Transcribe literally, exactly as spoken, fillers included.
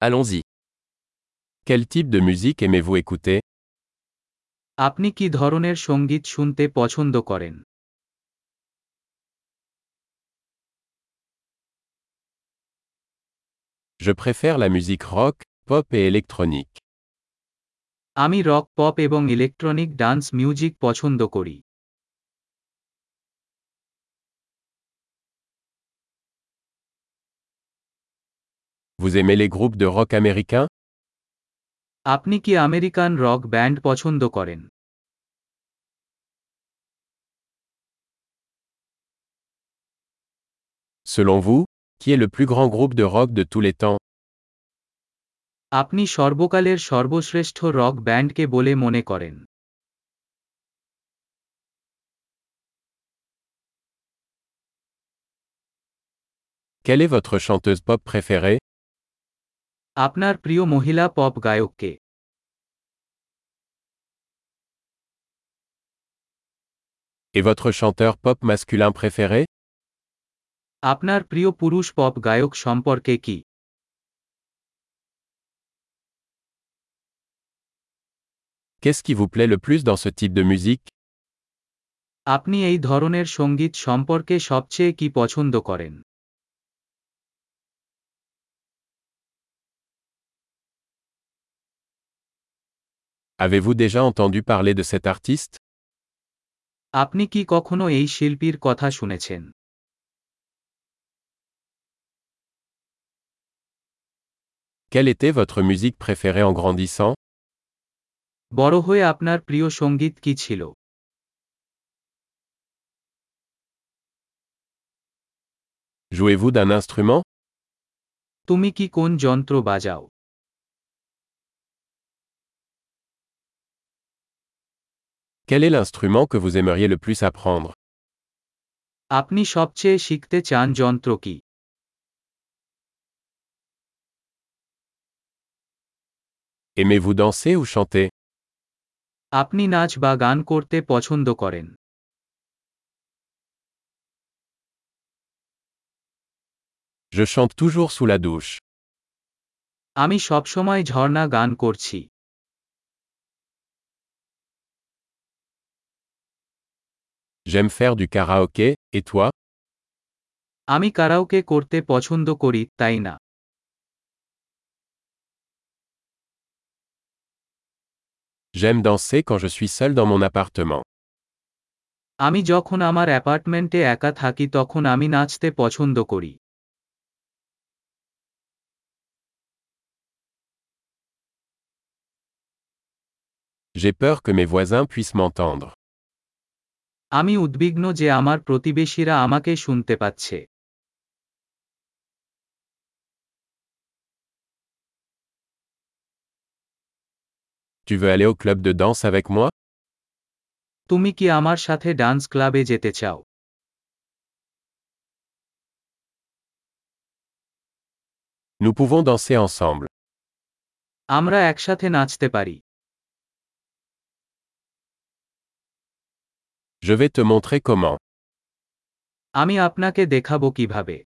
Allons-y. Quel type de musique aimez-vous écouter? আপনি কি ধরনের সঙ্গীত শুনতে পছন্দ করেন? Je préfère la musique rock, pop et électronique. আমি রক, পপ এবং ইলেকট্রনিক ডান্স মিউজিক পছন্দ করি। Vous aimez les groupes de rock américains? আপনি কি আমেরিকান রক ব্যান্ড পছন্দ করেন? Selon vous, qui est le plus grand groupe de rock de tous les temps? আপনি সর্বকালের সর্বশ্রেষ্ঠ রক ব্যান্ডকে বলে মনে করেন? Quelle est votre chanteuse pop préférée? আপনার প্রিয় মহিলা পপ গায়ক কে? Et votre chanteur pop masculin préféré? আপনার প্রিয় পুরুষ পপ গায়ক সম্পর্কে কি? Qu'est-ce qui vous plaît le plus dans ce type de musique? আপনি এই ধরনের সঙ্গীত সম্পর্কে সবচেয়ে কি পছন্দ করেন? Avez-vous déjà entendu parler de cet artiste? আপনি কি কখনো এই শিল্পীর কথা শুনেছেন? Quelle était votre musique préférée en grandissant? বড় হয়ে আপনার প্রিয় সঙ্গীত কি ছিল? Jouez-vous d'un instrument? তুমি কি কোন যন্ত্র বাজাও? Quel est l'instrument que vous aimeriez le plus apprendre? আপনি সবচেয়ে শিখতে চান যন্ত্র কি? Aimez-vous danser ou chanter? আপনি নাচ বা গান করতে পছন্দ করেন? Je chante toujours sous la douche. আমি সবসময় ঝর্ণা গান করছি। J'aime faire du karaoké, et toi? আমি কারাওকে করতে পছন্দ করি, তাই না? J'aime danser quand je suis seul dans mon appartement. আমি যখন আমার অ্যাপার্টমেন্টে একা থাকি তখন আমি নাচতে পছন্দ করি। J'ai peur que mes voisins puissent m'entendre. আমি উদ্বিগ্ন যে আমার প্রতিবেশীরা আমাকে শুনতে পাচ্ছে। Tu veux aller au club de danse avec moi? তুমি কি আমার সাথে ডান্স ক্লাবে যেতে চাও? Nous pouvons danser ensemble. আমরা একসাথে নাচতে পারি। Je vais te montrer comment. আমি আপনাকে দেখাবো কিভাবে।